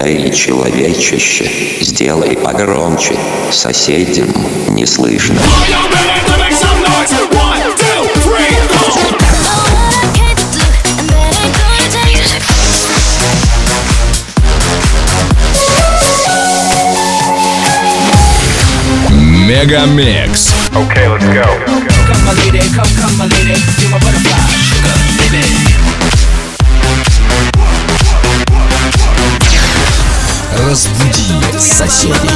Эй, человечище, сделай погромче, соседям не слышно. Мегамикс. Okay, let's go. Come my lady, come my lady, you're my butterfly, sugar, baby. Разбуди соседей.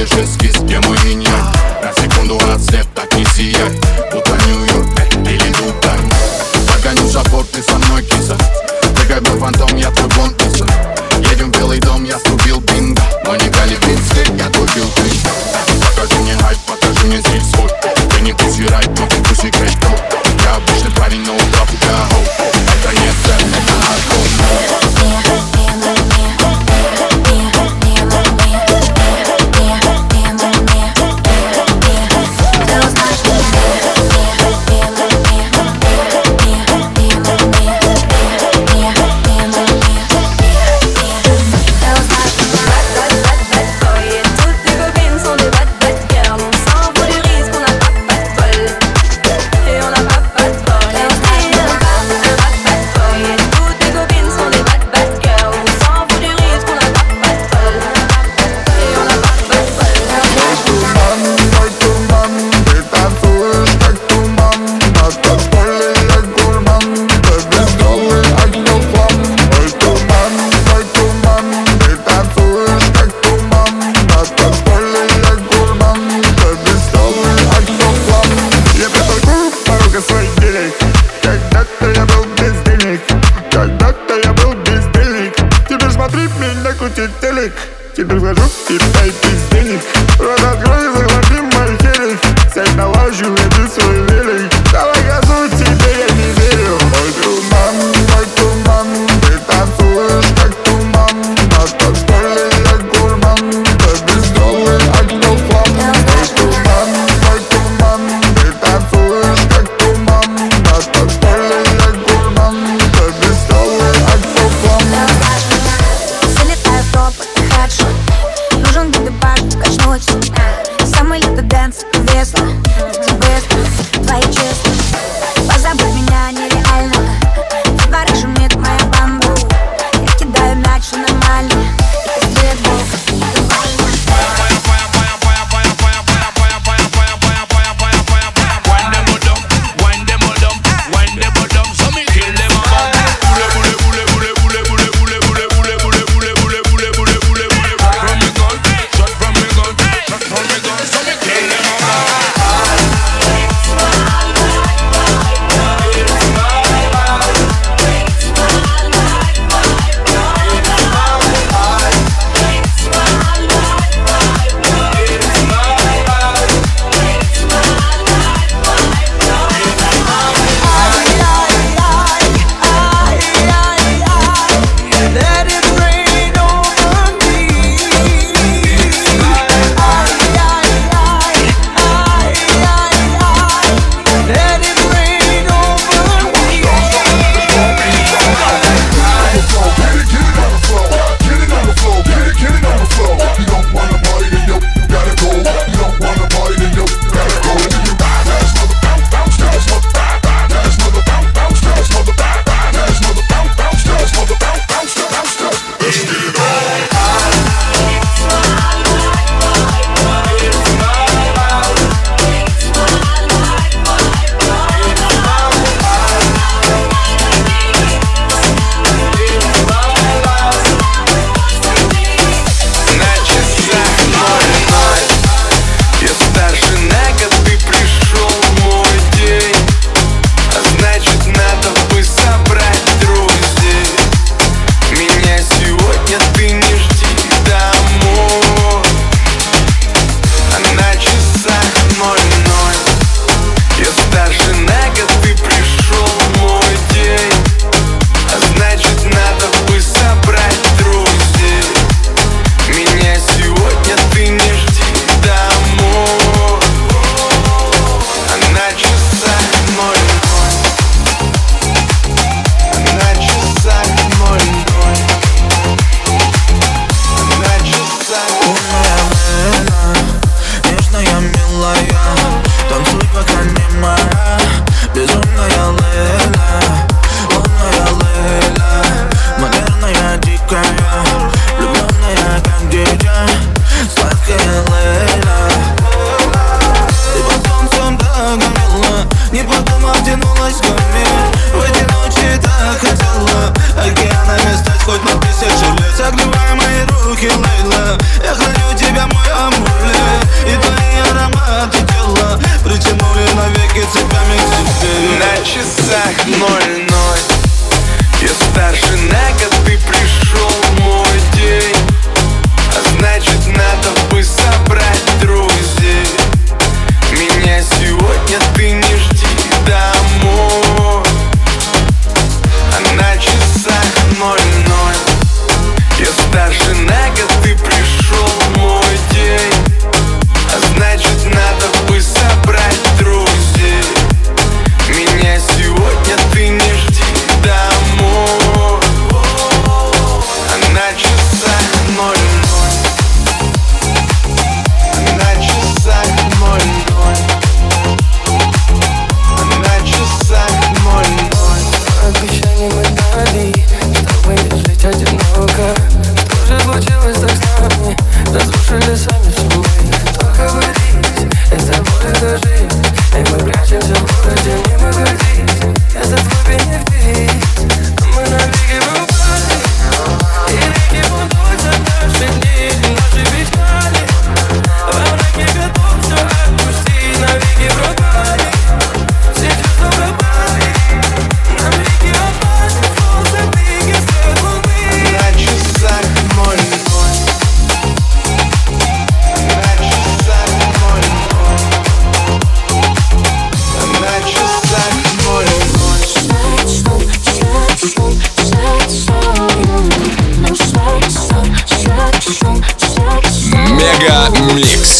делаешь эскиз, где мой инь-янь. На секунду от свет так не сияй, будто Нью-Йорк или Дубай. Погоню забор, ты со мной, киса. Прыгай мой фантом, я твой Бонд Писон. Едем в Белый дом, я срубил бинго. Но не голливудский, я твой Билл Клинтон. Покажи мне хайп, покажи мне стиль свой. Ты не пуси райт, но ты пуси крэш-топ. Я обычный парень, но утрап у тебя хоу. Это не цепь, это хардкор. Когда-то я был без денег, когда-то я был бездельник. Теперь смотри, меня крутит телек. Теперь вхожу и дай без денег. Рот открой, захвати мой хелик. Сядь на лавочку, веди свой велик. Давай газуй, тебе я не верю. Мой туман, ты танцуешь как туман. На танцполе я гурман, ты бездомный актофан. Мой туман, ты танцуешь как туман. На танцполе я гурман, ты бездомный актофан. Залетаю в топ, хедшот. Нужен бибибар, качнуть. Самый лютый дэнс, весло. Быстро, твои чувства. сами в тумане. Только водить, это боль, это жизнь. И мы прячемся в городе, не выходить. Это твой бенефис, а мы на береге рубали. И реки будут за наши дни, наши печали. Во мраке готов все отпустить, навеки пропали. Все чувства пропали. Нам реки опасны, солнце блики свет луны. На часах мой. Мега Микс.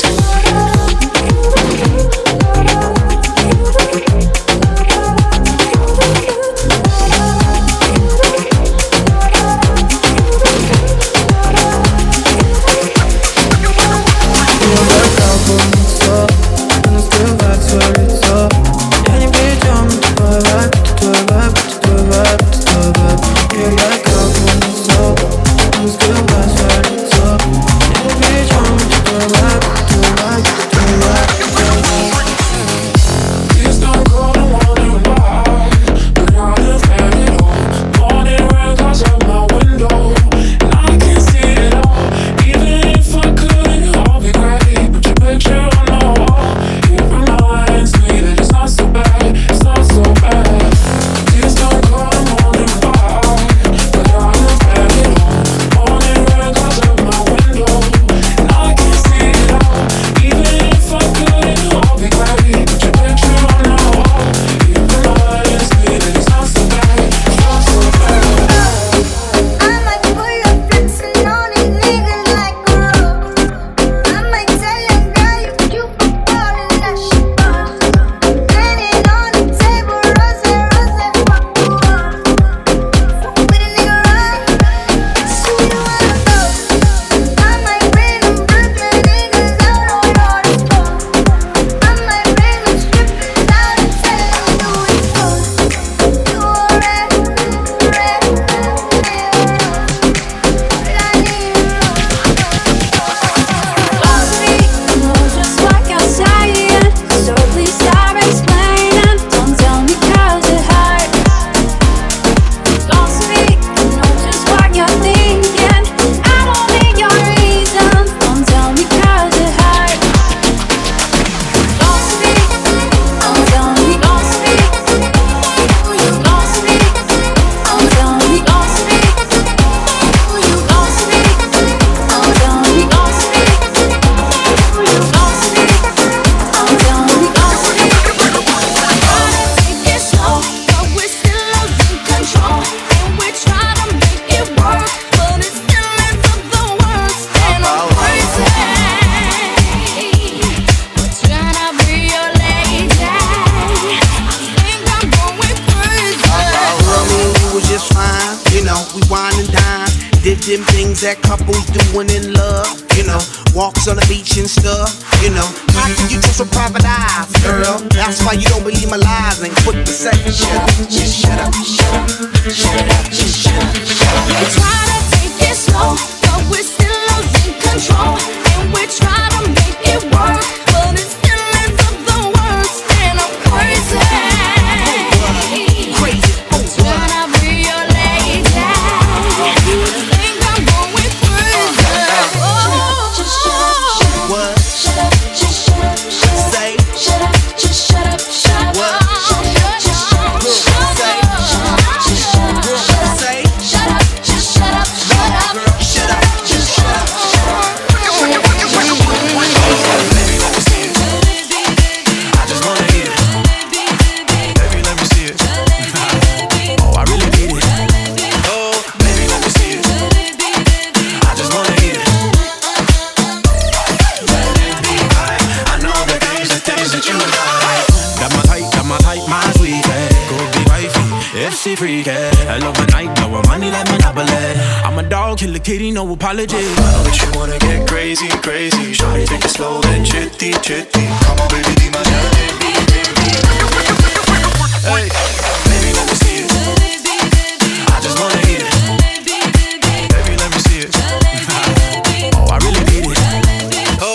Them things that couples doing in love, you know, walks on the beach and stuff, you know. How can you trust with private eyes, girl? That's why you don't believe my lies and quick to say, shut up, just shut up, shut up, shut up, just shut up, shut up. We try to take it slow, but we're still losing control, and we try to make it work, but it still ends up the worst, and I'm crazy. Crazy, oh, trying to be your lady. What? Shut up, just shut up, shut up. Say. Shut up, just shut up, shut up. What? Shut up, just shut up, Say. shut up, just shut up, shut up. Say. Shut up, just shut up, shut up. Girl, shut up, just shut up, shut up. Baby, let me see it. I just wanna eat it. Baby, let me see it. Oh, I really need it. Oh, baby, let me see it. I just wanna eat it. I know the things that you like. Got my type, my sweet, go be wifey, if she freaky. I love my night, know her money like Monopoly. I'm a dog, kill a kitty, no apology. I know that you wanna get crazy, crazy. Shawty, take it slow, then chitty, chitty. Come on, baby, be my baby. Hey, baby, let me see it. I just wanna eat it. Baby, let me see it. Oh, I really need it. Oh,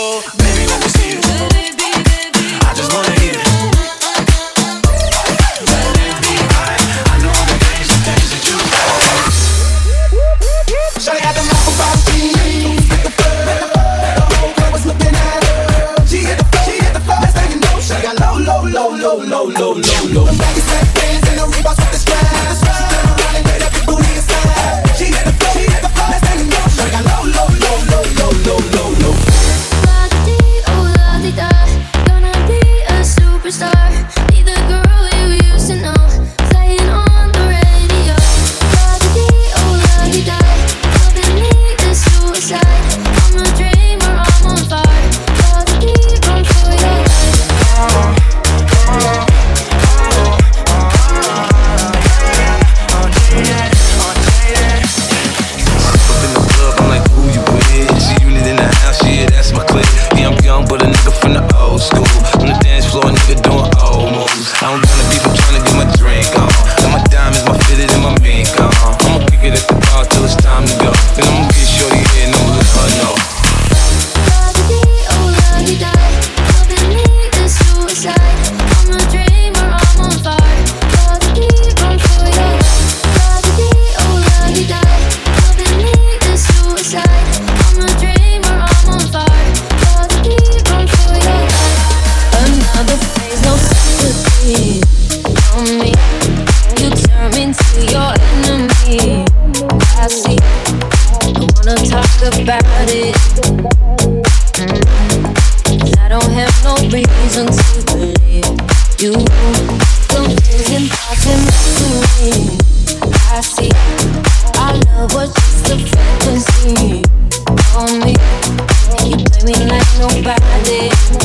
nobody.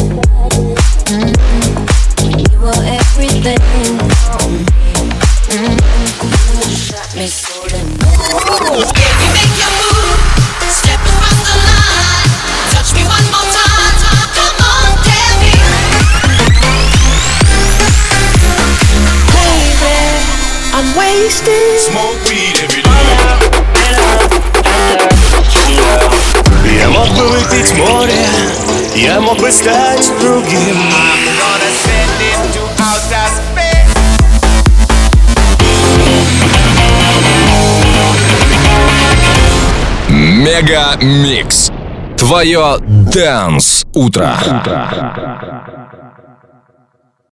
When you were everything for me. You shot me so damn. If you make your move, step across the line, touch me one more time. Come on, tell me. Baby, I'm wasted. Smoke weed every day. Я мог бы выпить море, я мог бы стать другим. I'm gonna send it to outer space. Мега Микс. Твое Dance утро.